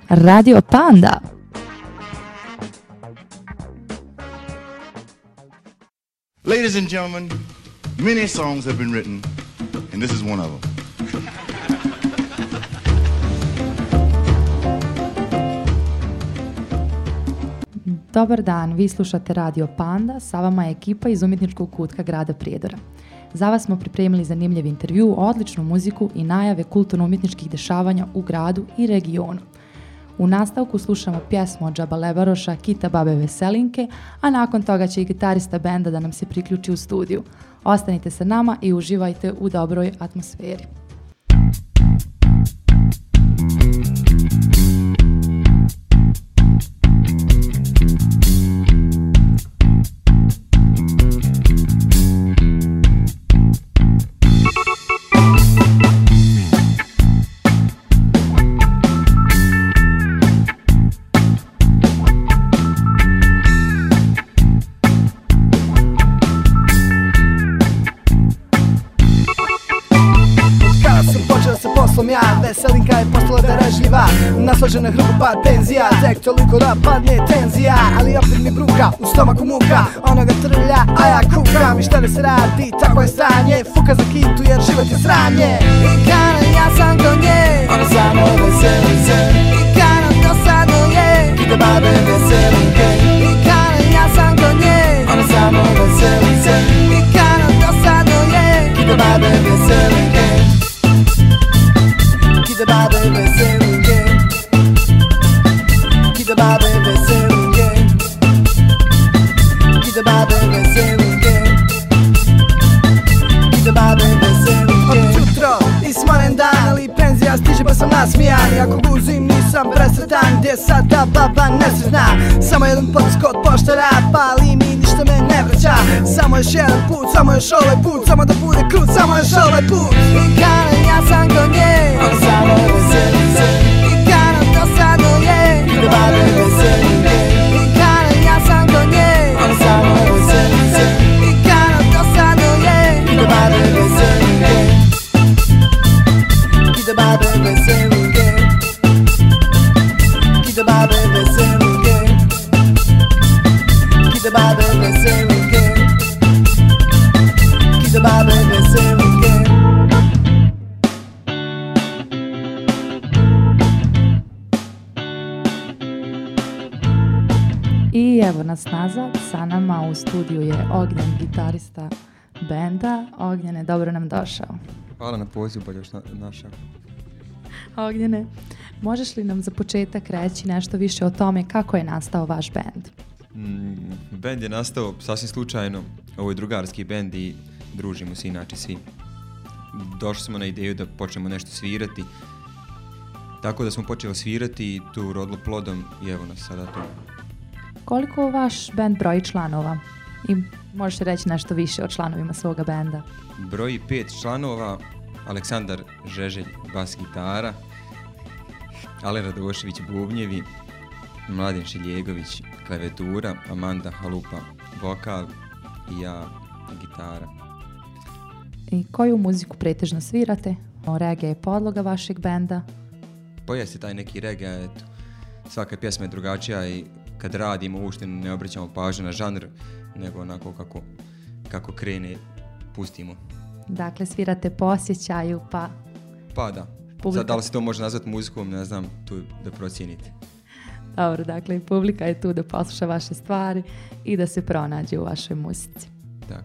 Radio Panda. Ladies and gentlemen, many songs have been written, and this is one of them. Dobar dan, vi slušate Radio Panda, sa vama je ekipa iz umjetničkog kutka grada Prijedora. Za vas smo pripremili zanimljiv intervju, odličnu muziku i najave kulturno-umjetničkih dešavanja u gradu i regionu. U nastavku slušamo pjesmu od Džaba Lebaroša, Kita babe Veselinke, a nakon toga će i gitarista benda da nam se priključi u studiju. Ostanite sa nama i uživajte u dobroj atmosferi. Veselinka je postala darežljiva, naslađena hrpa tenzija, tek toliko da padne tenzija, ali opet mi bruka, u stomaku muka, onoga trlja, a ja kukam. I šta da se radi, tako je stanje, fuka za kitu jer život je sranje. I kada ja sam do nje, ona samo veseli se. I kada dosadno je, ide babe Veselinke. I kada ja sam do nje, ona samo veseli se. I kada dosadno je, ide babe Veselinke. Kita babe Veselinke, kita babe Veselinke, kita babe Veselinke, kita babe Veselinke. Od jutro ismoren dan, ali penzija stiže pa sam nasmijan. I ako guzim nisam presretan, gdje sad ta baba nesretna. Samo jedan potisk od poštara, pali mi ništa me ne vraća. Samo još jedan put, samo još ovaj put, samo da bude krut, samo još ovaj put. I kada ja sam kod nje, ona samo veseli se. I kada dosadno je, ide babe Veselinke. I kada ja sam kod nje, ona samo veseli se. I kada dosadno je, ide babe Veselinke. Ide babe Veselinke. Ide babe Veselinke. Ide babe Veselinke. Ide babe Veselinke. I evo nas nazad, sa nama u studiju je Ognjen, gitarista benda. Ognjene, dobro nam došao. Hvala na pozivu, bolje još našao. Ognjene, možeš li nam za početak reći nešto više o tome kako je nastao vaš bend? Bend je nastao sasvim slučajno, ovo je drugarski bend i družimo se inače svi. Došli smo na ideju da počnemo nešto svirati, tako da smo počeli svirati i tu rodilo plodom i evo nas sada tu. Koliko vaš bend broji članova? I možeš reći nešto više o članovima svoga benda? Broji 5 članova, Aleksandar Žeželj, bas gitara, Ale Radošević, bubnjevi, Mladen Šiljegović, klavijatura, Amanda Halupa, vokal i ja, gitara. I koju muziku pretežno svirate? Reggae je podloga vašeg benda? Pa jeste taj neki reggae, eto. Svaka pjesma je drugačija i kad radimo uopšte ne obraćamo pažnju na žanr, nego onako kako krene, pustimo. Dakle, svirate po osjećaju, pa... Pa da. Sad, da li se to može nazvati muzikom, ne znam, tu da procijenite. Dobro, dakle, publika je tu da posluša vaše stvari i da se pronađe u vašoj muzici. Da.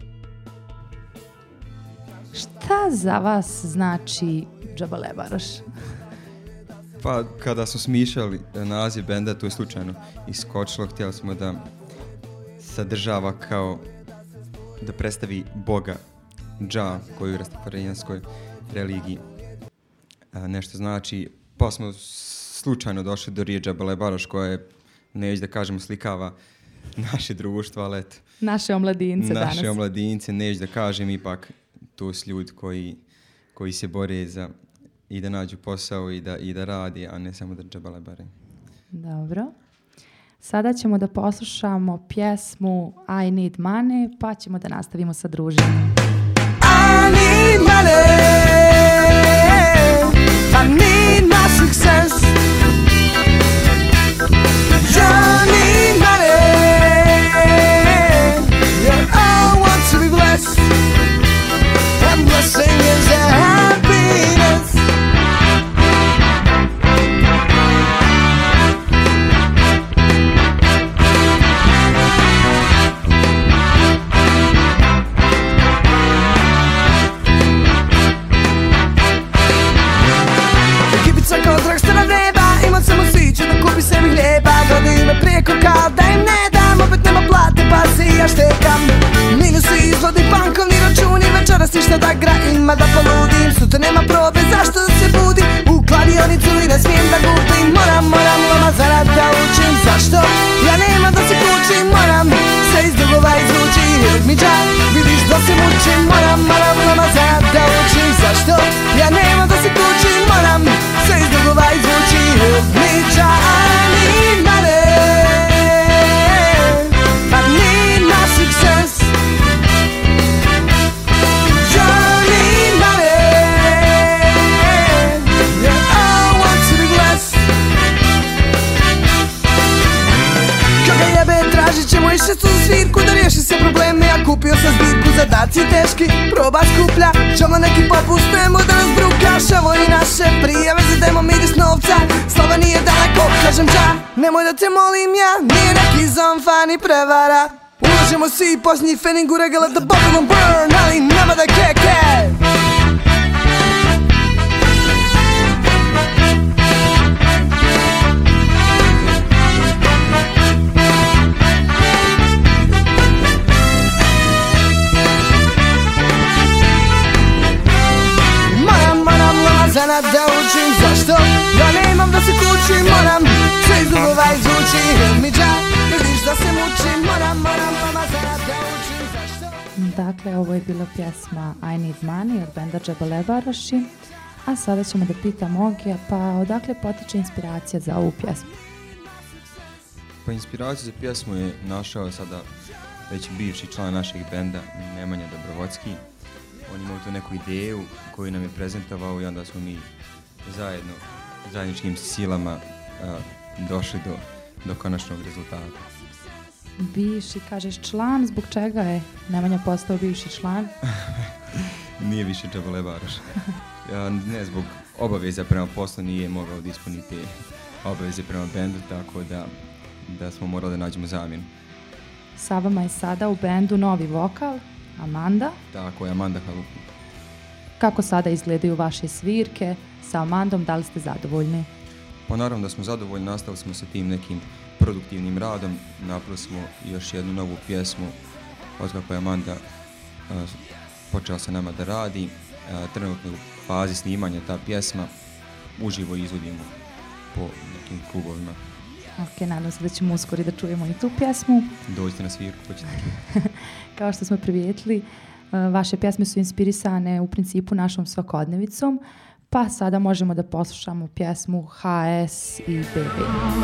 Šta za vas znači Džaba Lebaroš? Pa, kada smo smišljali naziv benda, to je slučajno iskočilo. Htjeli smo da sadržava kao da predstavi Boga Dža, koji u rastafarijanskoj religiji nešto znači. Pa smo slučajno došli do riječi Džaba Lebaroš, koja je, neću da kažemo, slikava naše društvo, ali eto. Naše omladince danas. Naše omladince, neću da kažem, ipak to su ljudi koji se bore za i da nađu posao i da radi, a ne samo da džaba lebare. Dobro. Sada ćemo da poslušamo pjesmu I Need Money, pa ćemo da nastavimo sa druženjem. I need money, I need my success. Neko kao da im ne dam, opet nema plate pa se i ja štekam. Minusi, izvodi, bankovni računi, večeras ništa da gra ima da poludim. Sutra nema probe, zašto da se budim? U kladionicu i ne smijem da gubim. Moram lama zarad da učim. Zašto? Ja nema da se kućim. Moram se iz dugova izvući. Help me Jah, vidiš da se mučim. Moram lama zarad da učim. Zašto? Ja nema da se kućim. Moram se iz dugova izvući. Help me Jah, I need money, I need my success. Tražit ćemo išće su svirku da riješi se probleme. Ja kupio sam zbirku, zadaci teški, proba skuplja. Ćemo neki popust, nemoj da nas brukaš. Evo i naše prijave za demo miris novca. Slava nije daleko, kažem ja, nemoj da te molim ja. Nije neki zonfa ni prevara. Uložimo svi posljednji fening u regala da Babylon burn, ali nema da keke. Zanat da učim, zašto? Ja nemam da se kućim, moram sve iz dugova izvući. Help me Jah, vidiš da se mučim, moram mama zanat da učim, zašto? Dakle, ovo je bila pjesma I Need Money od benda Džabalebaroši. A sada ćemo da pitamo Ogija, pa odakle potiče inspiracija za ovu pjesmu? Pa inspiraciju za pjesmu je našao sada već bivši član našeg benda, Nemanja Dobrovodski. On imao tu neku ideju koju nam je prezentovao i onda smo mi zajedničkim silama došli do konačnog rezultata. Bivši, kažeš član, zbog čega je Nemanja postao bivši član? Nije više Džabalebaroš. Ne, zbog obaveza prema poslu nije mogao da ispuniti obaveze prema bendu, tako da smo morali da nađemo zamjenu. Sa vama je sada u bendu novi vokal, Amanda. Tako je, Amanda Halupi. Kako sada izgledaju vaše svirke sa Amandom, da li ste zadovoljni? Pa naravno da smo zadovoljni, nastavili smo sa tim nekim produktivnim radom, napravili smo još jednu novu pjesmu od kako je Amanda počela sa nama da radi. Trenutno u fazi snimanja ta pjesma, uživo izvodimo po nekim klubovima. Ok, nadam se da ćemo uskoro da čujemo i tu pjesmu. Dođite na svirku, pa ćete čuti. Kao što smo primijetili, vaše pjesme su inspirisane u principu našom svakodnevicom, pa sada možemo da poslušamo pjesmu HS i BB.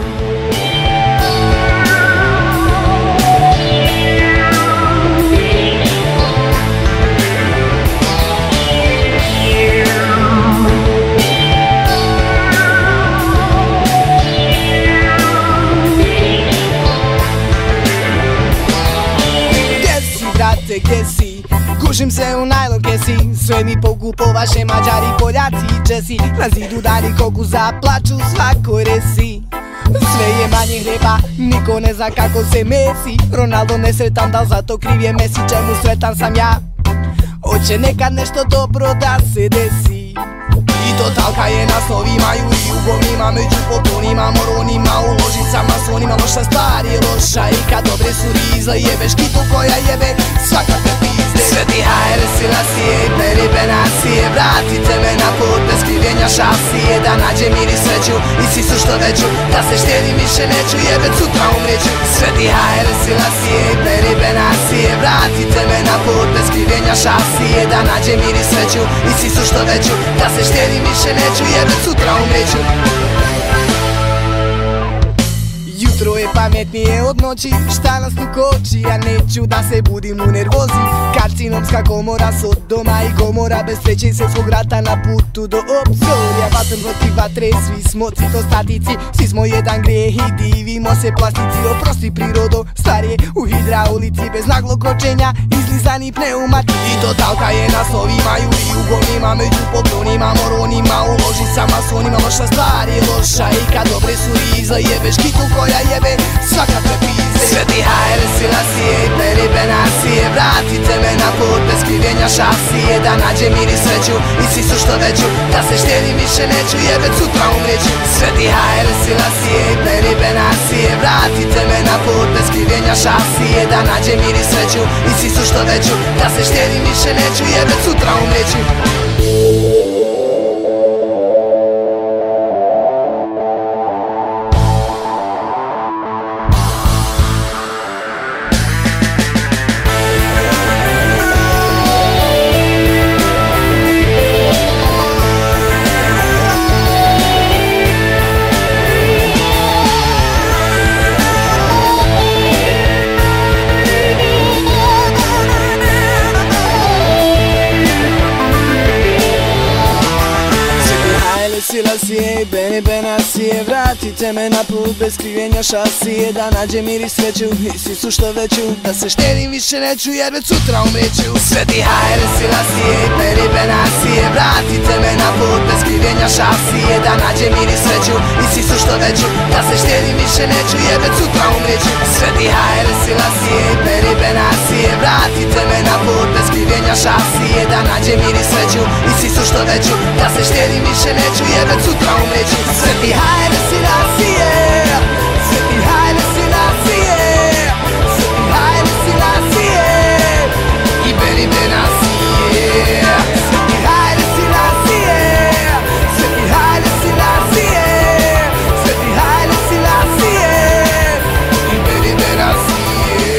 Gdje si? Gušim se u najlon kesi. Sve mi pokupo vaše Mađari, Poljaci i Česi. Na zidu dani koku zaplaču svakoj resi. Sve je manje hljeba, niko ne zna kako se mesi. Ronaldo nesretan, dal zato kriv je Messi, čemu sretan sam ja? Hoće nekad nešto dobro da se desi. I totalka je na slovima i u govnima, među poklonima, moronima, u ložicama, slonima. Loša stvar je loša i kad dobre su rizle, jebeš kitu koja jebe svakakve pizde. Sveti HR Silasije i peribe nasije, vratite me na put bez skrivljenja šasije. Da nađem mir i sreću i sisu što veću, da se štjedim više neću, jebet sutra umreću. Sveti HR Silasije i peribe nasije, vratite me na put bez skrivljenja šasije. Da nađem mir i sreću i sisu što veću, da se štjedim više neću, jebet sutra umreću. Jutro je pametnije od noći, šta nas tu koči? Ja neću da se budim u nervozi. Karcinomska komora, Sodoma i Gomora, bez sreće se svog rata na putu do obzorja. Vatem protiv vatre, svi smo citostatici, svi smo jedan grijeh i divimo se plastici. Oprosti prirodo, starije u hidraulici, bez naglog kočenja, izlizani pneumati. I totalka je na slovima i u govnima, među poklonima, moronima, u ložicama, slonima. Loša stvar je loša i kad dobre su rizle, jebeš kitu koja jebe svakakve pizde. Sveti Haile Selassie, Beni Benasije, vratite me na put bez krivljenja šasije, da nađem mir i sreću i sisu što veću, da se štedim više neću jer već sutra umrijeću. Sveti Haile Selassie, Beni Benasije, vratite me na put bez krivljenja šasije, da nađem mir i sreću i sisu što veću, da se štedim više neću jer već sutra umrijeću. Selassie, Beni Benasije, vratite me na put bez krivljenja šasije, da nađem mir i sreću i sisu što veću, da se štedim više neću jer već sutra umrijeću. Sveti Haile Selassie, Beni Benasije, vratite me na put bez krivljenja šasije, da nađem mir i sreću i sisu što veću, da se štedim više neću jer već sutra umrijeću. Sveti Haile Selassie, Beni Benasije, vratite me na put bez krivljenja šasije, da nađem mir i sreću i sisu što veću, da se štedim više neću jer već sutra umrijeću. Sveti Haile Selassie, Sveti Haile Selassie, Sveti Haile Selassie i Beni Benasije. Sveti Haile Selassie, Sveti Haile Selassie, Sveti Haile Selassie i Beni Benasije.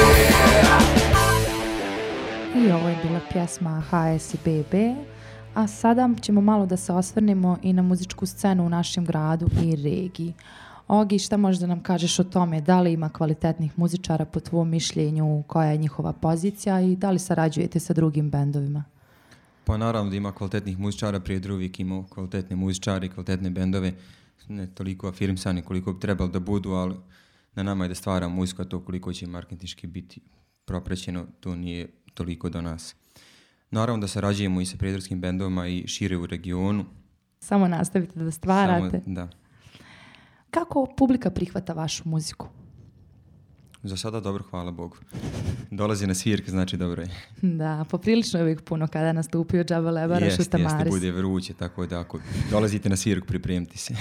I ovo je bila pjesma HSBB. A sada ćemo malo da se osvrnemo i na muzičku scenu u našem gradu i regiji. Ogi, šta možeš da nam kažeš o tome? Da li ima kvalitetnih muzičara po tvom mišljenju? Koja je njihova pozicija i da li sarađujete sa drugim bendovima? Pa naravno da ima kvalitetnih muzičara, prije uvijek imao kvalitetne muzičari, kvalitetne bendove, ne toliko afirmsani koliko bi trebalo da budu, ali na nama je da stvaramo muziku, a to koliko će marketinški biti propraćeno, to nije toliko do nas. Naravno da sarađujemo i sa prijedorskim bendovima i šire u regionu. Samo nastavite da stvarate. Da. Kako publika prihvata vašu muziku? Za sada dobro, hvala Bogu. Dolazi na svirke, znači dobro je. Da, poprilično je uvijek puno kada nastupio Džaba Lebaroš u Tamaris. Jeste, bude vruće, tako da ako dolazite na svirku, pripremite se.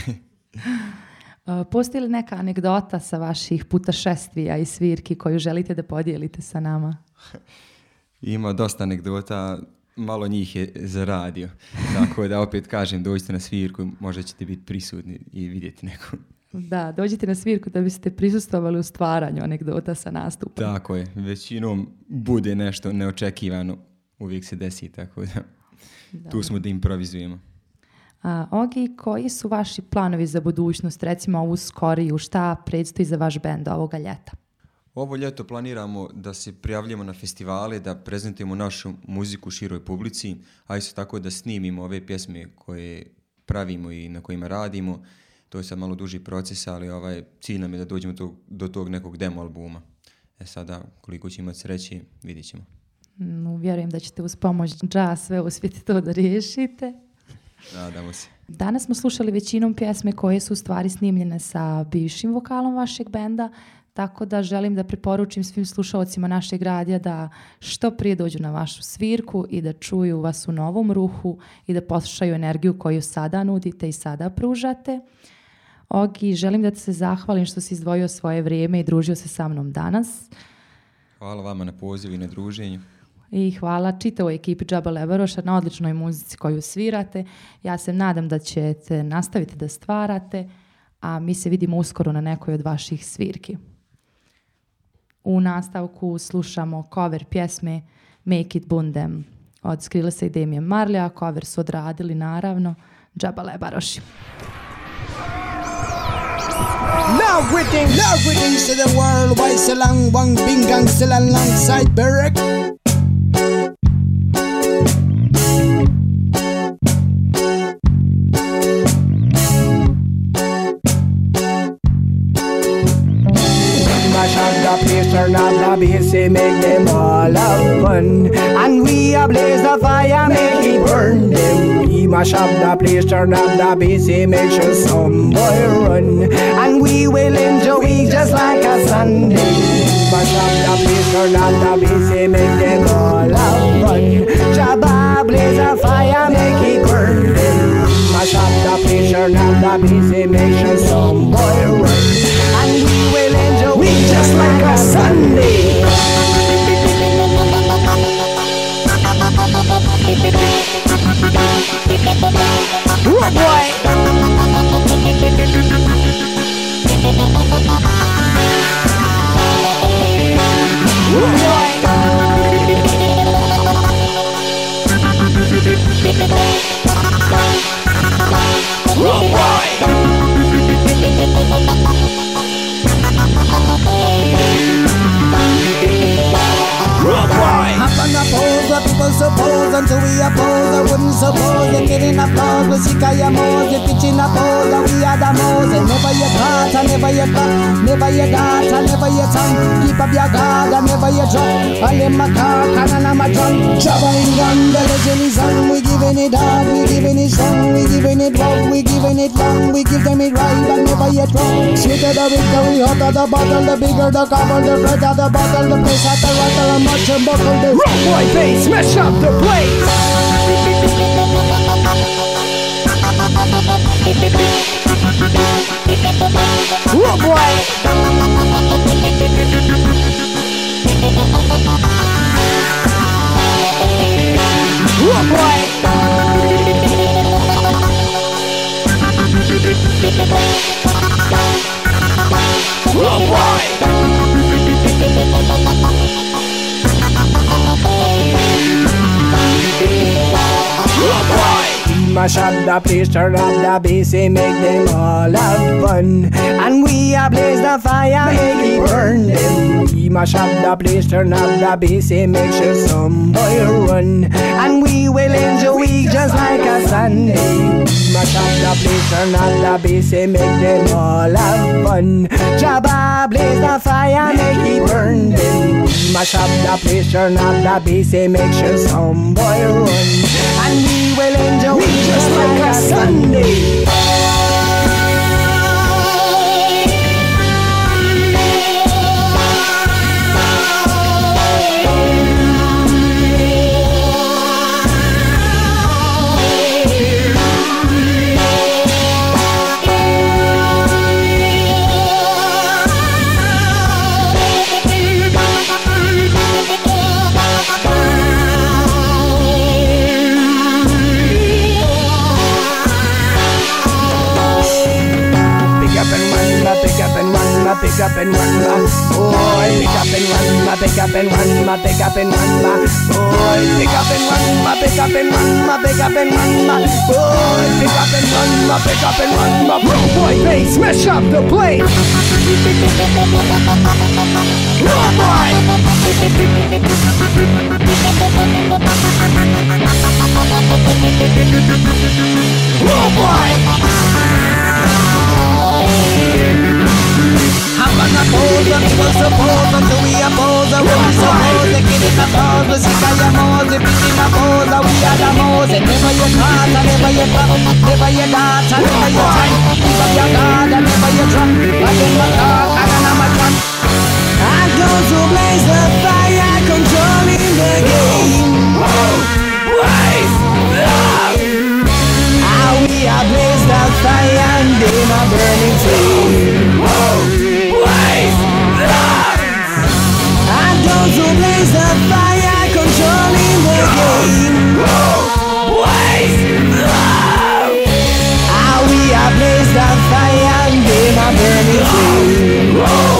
Postoji li neka anegdota sa vaših putašestvija i svirki koju želite da podijelite sa nama? Ima dosta anegdota, malo njih je za radio. Tako da opet kažem, dođite na svirku, možda ćete biti prisutni i vidjeti neku. Da, dođite na svirku da biste prisustvovali u stvaranju anegdota sa nastupom. Tako je, većinom bude nešto neočekivano, uvijek se desi, tako da tu smo da improvizujemo. Ogi, koji su vaši planovi za budućnost, recimo ovu skoriju, šta predstoji za vaš bend ovoga ljeta? Ovo ljeto planiramo da se prijavljamo na festivale, da prezentujemo našu muziku široj publici, a isto tako da snimimo ove pjesme koje pravimo i na kojima radimo. To je sad malo duži proces, ali cilj nam je da dođemo do tog nekog demo albuma. Sada, koliko će imati sreće, vidit ćemo. Vjerujem da ćete uz pomoć dža sve uspjeti to da riješite. Nadamo se. Danas smo slušali većinom pjesme koje su u stvari snimljene sa bivšim vokalom vašeg benda, tako da želim da preporučim svim slušalcima našeg radija da što prije dođu na vašu svirku i da čuju vas u novom ruhu i da poslušaju energiju koju sada nudite i sada pružate. Ogi, želim da te se zahvalim što si izdvojio svoje vrijeme i družio se sa mnom danas. Hvala vama na pozivu i na druženju. I hvala čitavoj ekipi Džaba Lebaroša na odličnoj muzici koju svirate. Ja se nadam da ćete nastaviti da stvarate, a mi se vidimo uskoro na nekoj od vaših svirki. U nastavku slušamo cover pjesme Make It Bundem od Skrillesa i Damien Marleya. Cover su odradili naravno Džaba Lebaroši. Now greeting to the world. Why so long, one bing gang still alongside Barack. Turn up the bass, make them all have fun. And we a blaze the fire, make it burn them. We Mash up the place, turn up the bass, make sure some boy run. And we will enjoy just like a Sunday. Mash up the place, turn up the bass, make them all have fun. Jabba blaze a fire, make it burn. Mash up the place, turn up the bass, make sure some boy run. And we will enjoy just like a Sunday. Road boy. Road boy. Road boy. Road boy. Hop on the pose, what people suppose. Until we oppose, I wouldn't suppose. They're getting applause, but sick of your moles. They're pitching a pose, and we are the moles. And never your caught, and never your cut. Never your got, and never your tongue. Keep up your guard, and never your drop. All in my car, and I'm a drum. Trouble in gun, the legend is on. We giving it hard, we giving it strong. We giving it rough, we giving it long. We give them it right, but never yet wrong. Sweeter the victory, hotter the bottle. The bigger the cover, the brighter the bottle. The place at the rattle, and much and buckle. The rock boy bass, smash up the place. Rock boy. Rock boy. Rock boy. Mash up the place, turn up the bass, and make them all have fun. And we a blaze the fire, make it burn them. We mash up the place, turn up the bass, and make sure some boy run. And we will enjoy just like a Sunday. Mash up the place, turn up the bass, and make them all have fun. Jabba blaze the fire, make it burn them. Mash up the place, turn up the bass, and make sure some boy run. And we will enjoy just like a Sunday. Pick up and run, boy. Pick up and run, pick up and run, pick up and run, boy. Pick up and run, pick up and run, pick up and run, boy. Pick up and run, pick up and run, road boy bass, smash up the place. Road boy. Road boy. Hop on the pole, the people suppose. Until we oppose, I won't suppose. They get in the pose, the sick of your moles. They pitch in the pose, we are the moles. And never your caught, and never your cut. Never your dart, and never your time. Keep up your guard, and never your drop. But in my car, and I'm a drum. And those who blaze the fire, controlling the game. How we are blaze the fire, and they are burning flame. And those who blaze the fire, controlling the game. How we are blaze the fire, and they are burning flame.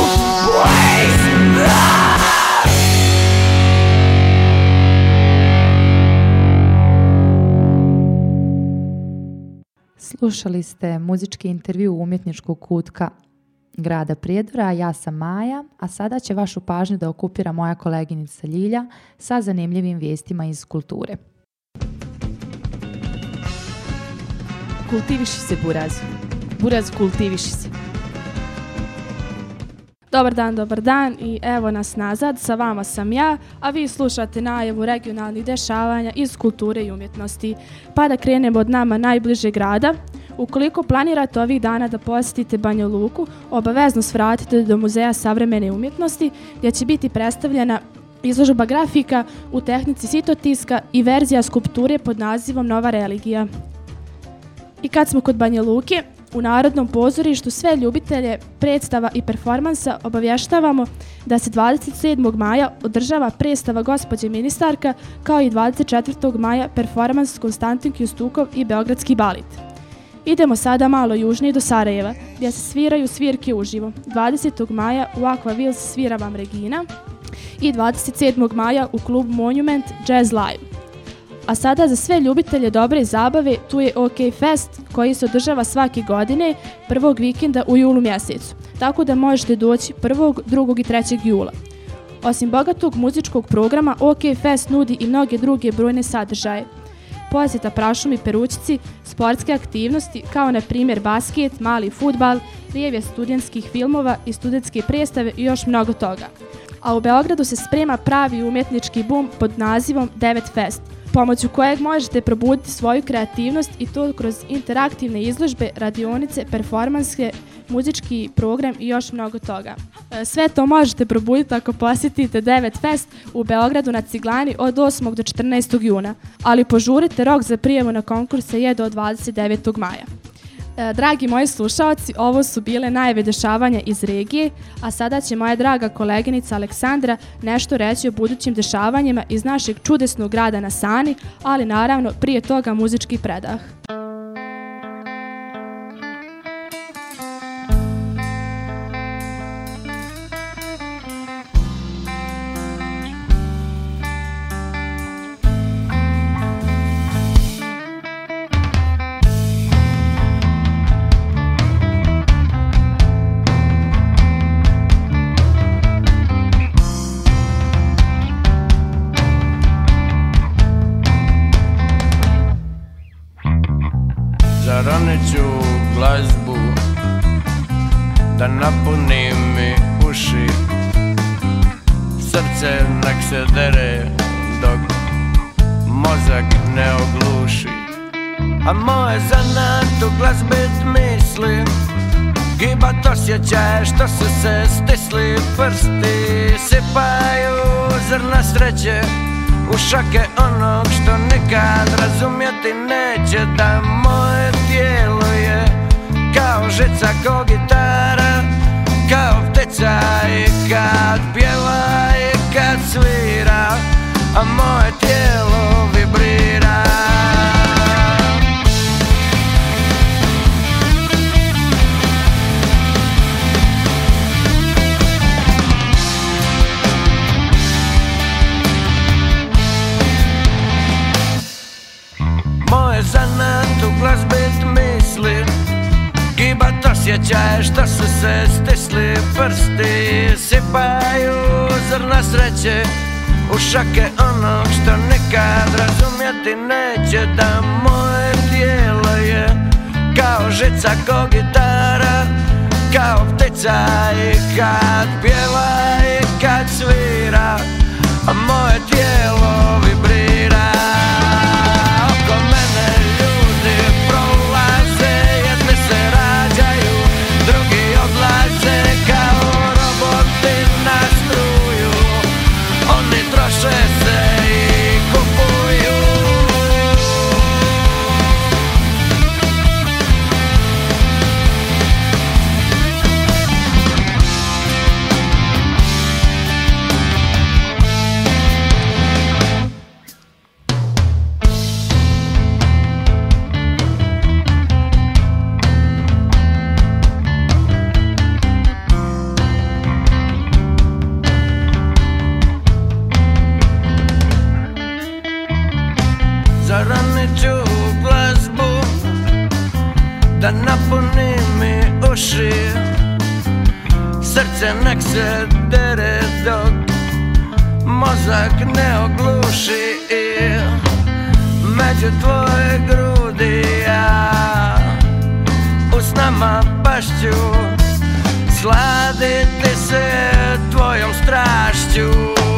Slušali ste muzički intervju umjetničkog kutka grada Prijedora, ja sam Maja, a sada će vašu pažnju da okupira moja koleginica Ljilja sa zanimljivim vijestima iz kulture. Kultiviši se, Buraz. Buraz, kultiviši se. Dobar dan i evo nas nazad, sa vama sam ja, a vi slušate najavu regionalnih dešavanja iz kulture i umjetnosti. Pa da krenemo od nama najbližeg grada. Ukoliko planirate ovih dana da posjetite Banja Luku, obavezno svratite do Muzeja savremene umjetnosti gdje će biti predstavljena izložba grafika u tehnici sitotiska i verzija skulpture pod nazivom Nova religija. I kad smo kod Banja Luke, u Narodnom pozorištu sve ljubitelje predstava i performansa obavještavamo da se 27. maja održava predstava Gospođe ministarka, kao i 24. maja performans Konstantin Kjustukov i Beogradski balet. Idemo sada malo južnije do Sarajeva, gdje se sviraju svirke uživo. 20. maja u Aquaville svira vam Regina i 27. maja u klubu Monument Jazz Live. A sada za sve ljubitelje dobre zabave tu je OK Fest koji se održava svake godine prvog vikenda u julu mjesecu, tako da možete doći 1., 2. i 3. jula. Osim bogatog muzičkog programa, OK Fest nudi i mnoge druge brojne sadržaje. Posjeta prašumi Perućici, sportske aktivnosti kao na primjer basket, mali fudbal, prijevje studentskih filmova i studentske predstave i još mnogo toga. A u Beogradu se sprema pravi umjetnički bum pod nazivom 9 Fest, pomoću kojeg možete probuditi svoju kreativnost i to kroz interaktivne izložbe, radionice, performanske, muzički program i još mnogo toga. Sve to možete probuditi ako posjetite 9 Fest u Beogradu na Ciglani od 8. do 14. juna, ali požurite, rok za prijavu na konkurse je do 29. maja. Dragi moji slušaoci, ovo su bile najave dešavanja iz regije, a sada će moja draga koleginica Aleksandra nešto reći o budućim dešavanjima iz našeg čudesnog grada na Sani, ali naravno prije toga muzički predah. Zaroniću glazbu da napuni mi uši, srce nek se dere dok mozak ne ogluši. A moje zanat u glazbit misli, gibat osjećaj što su se stisli prsti, sipaju zrna sreće u šake onog što nikad razumjeti neće, da moje tijelo je kao žica, ko gitara, kao ptica i kad pjeva i kad svira, a moje tijelo vibrira. Moje zanat u glazbit misli, gibat osjećaj što su se stisli prsti, sipaju zrna sreće u šake onog što nikad razumjeti neće, da moje tijelo je kao žica, ko gitara, kao ptica i kad pjeva i kad svira, a moje tijelo vibrira. Oko mene ljudi prolaze, jedni se rađaju, drugi odlaze kao roboti na struju, oni troše se i kupuju. Zaroniću glazbu da napuni mi uši, srce nek se dere dok mozak ne ogluši, i među tvoje grudi ja u snama pašću sladiti se tvojom strašću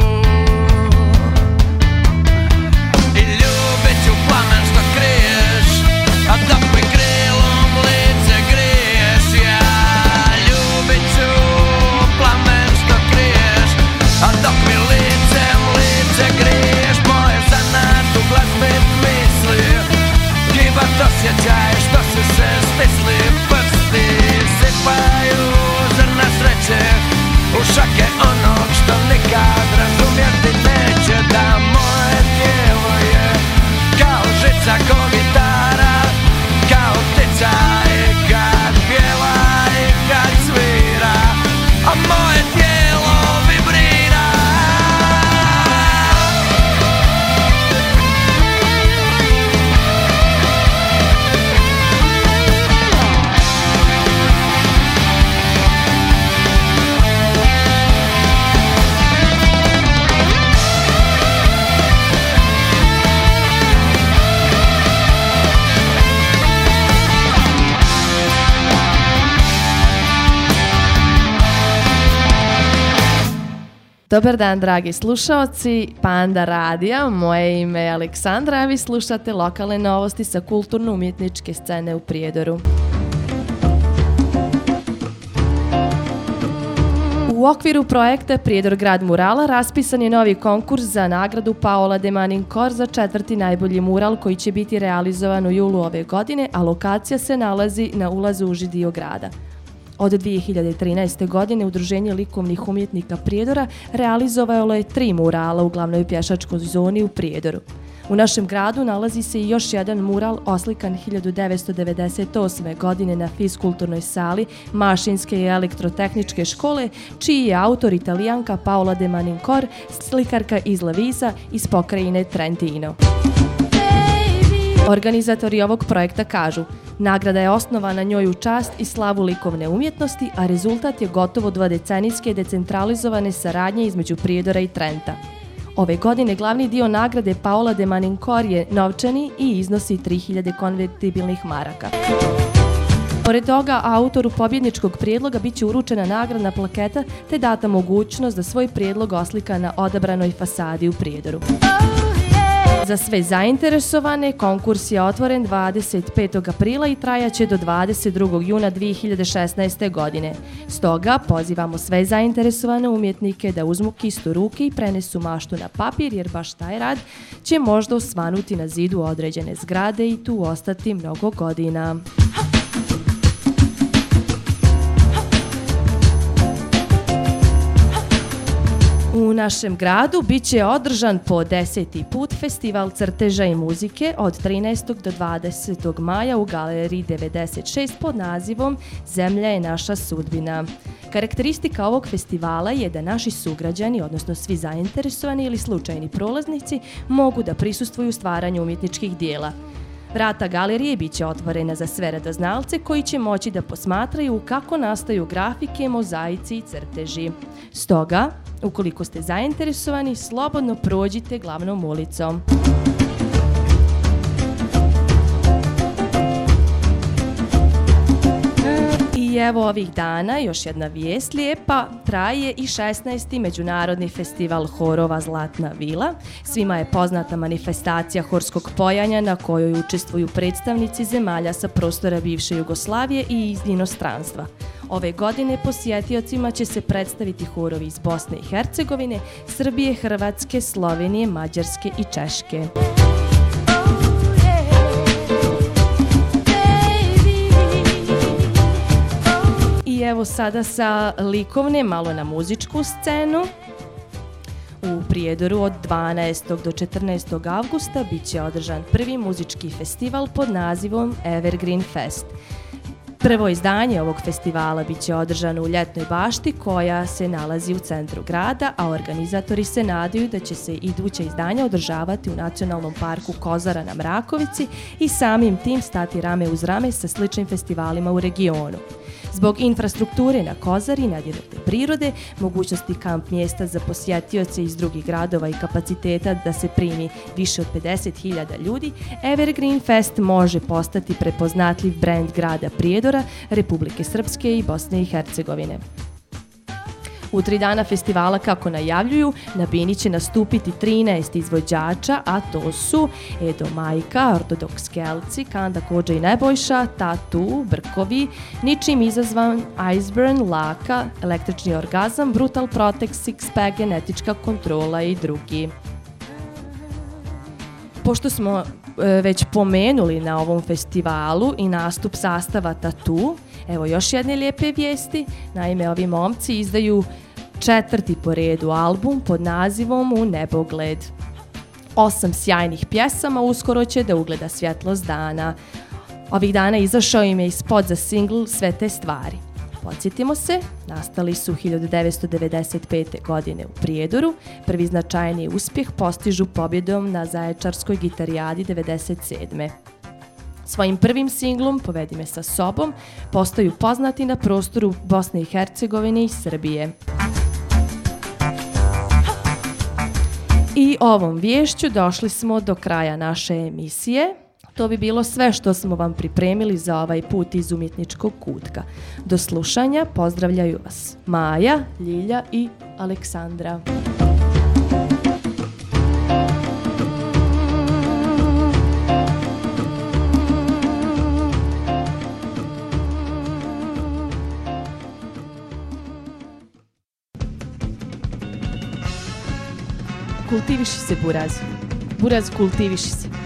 i ljubit ću plamen što kriješ, a dok mi krilom lice griješ. Ja ljubit ću plamen što kriješ, a dok mi licem lice griješ. Moje zanat u glazbi misli, gibat osjećaj što su se stisli. Prsti sipaju zrna sreće u šake onog što nikad razumjeti neće. Da moje tijelo je kao žica, ko gitara, kao ptica i kad pjeva i kad svira, a moje tijelo vibrira. Dobar dan, dragi slušaoci Panda radija, moje ime je Aleksandra, a vi slušate lokalne novosti sa kulturno-umjetničke scene u Prijedoru. U okviru projekta Prijedor grad murala raspisan je novi konkurs za nagradu Paola de Manincor za 4. najbolji mural koji će biti realizovan u julu ove godine, a lokacija se nalazi na ulazu u uži dio grada. Od 2013. godine Udruženje likovnih umjetnika Prijedora realizovalo je 3 murala u glavnoj pješačkoj zoni u Prijedoru. U našem gradu nalazi se i još jedan mural oslikan 1998. godine na fiskulturnoj sali Mašinske i elektrotehničke škole, čiji je autor Italijanka Paola de Manincor, slikarka iz Lavisa iz pokrajine Trentino. Organizatori ovog projekta kažu: nagrada je osnovana njoj u čast i slavu likovne umjetnosti, a rezultat je gotovo 2-decenijske decentralizovane saradnje između Prijedora i Trenta. Ove godine glavni dio nagrade Paola de Manincor je novčani i iznosi 3000 konvertibilnih maraka. Pored toga, autoru pobjedničkog prijedloga bit će uručena nagradna plaketa te data mogućnost da svoj prijedlog oslika na odabranoj fasadi u Prijedoru. Za sve zainteresovane, konkurs je otvoren 25. aprila i trajaće do 22. juna 2016. godine. Stoga pozivamo sve zainteresovane umjetnike da uzmu kist u ruke i prenesu maštu na papir, jer baš taj rad će možda osvanuti na zidu određene zgrade i tu ostati mnogo godina. U našem gradu bit će održan po 10. put festival crteža i muzike od 13. do 20. maja u galeriji 96 pod nazivom Zemlja je naša sudbina. Karakteristika ovog festivala je da naši sugrađani, odnosno svi zainteresovani ili slučajni prolaznici, mogu da prisustvuju stvaranju umjetničkih dijela. Vrata galerije bit će otvorena za sve radoznalce koji će moći da posmatraju kako nastaju grafike, mozaici i crteži. Stoga, ukoliko ste zainteresovani, slobodno prođite glavnom ulicom. I evo ovih dana, još jedna vijest lijepa, traje i 16. Međunarodni festival horova Zlatna vila. Svima je poznata manifestacija horskog pojanja na kojoj učestvuju predstavnici zemalja sa prostora bivše Jugoslavije i iz inostranstva. Ove godine posjetiocima će se predstaviti horovi iz Bosne i Hercegovine, Srbije, Hrvatske, Slovenije, Mađarske i Češke. I evo sada sa likovne, malo na muzičku scenu. U Prijedoru od 12. do 14. avgusta bit će održan prvi muzički festival pod nazivom Evergreen Fest. Prvo izdanje ovog festivala bit će održano u Ljetnoj bašti koja se nalazi u centru grada, a organizatori se nadaju da će se iduća izdanja održavati u Nacionalnom parku Kozara na Mrakovici i samim tim stati rame uz rame sa sličnim festivalima u regionu. Zbog infrastrukture na Kozari, nadirnuté prirode, mogućnosti kamp mjesta za posjetioce iz drugih gradova i kapaciteta da se primi više od 50.000 ljudi, Evergreen Fest može postati prepoznatljiv brend grada Prijedora, Republike Srpske i Bosne i Hercegovine. U 3 dana festivala, kako najavljuju, na bini će nastupiti 13 izvođača, a to su Edo Majka, Ortodoks Kelci, Kanda Kođa i Nebojša, Tatu, Brkovi, Ničim izazvan, Iceburn, Laka, Električni orgazam, Brutal Protect, Sixpack, Genetička kontrola i drugi. Pošto smo već pomenuli na ovom festivalu i nastup sastava Tatu, evo još jedne lijepe vijesti. Naime, ovi momci izdaju 4. po redu album pod nazivom U nebogled. 8 sjajnih pjesama uskoro će da ugleda svjetlost dana. Ovih dana izašao im je i spot za singl Sve te stvari. Podsjetimo se, nastali su 1995. godine u Prijedoru. Prvi značajni uspjeh postižu pobjedom na Zaječarskoj gitarijadi 1997. Svojim prvim singlom Povedi me sa sobom postaju poznati na prostoru Bosne i Hercegovine i Srbije. I ovom viješću došli smo do kraja naše emisije. To bi bilo sve što smo vam pripremili za ovaj put iz umjetničkog kutka. Do slušanja, pozdravljaju vas Maja, Ljilja i Aleksandra. Kultiviši se, Buraz. Buraz, kultiviši se.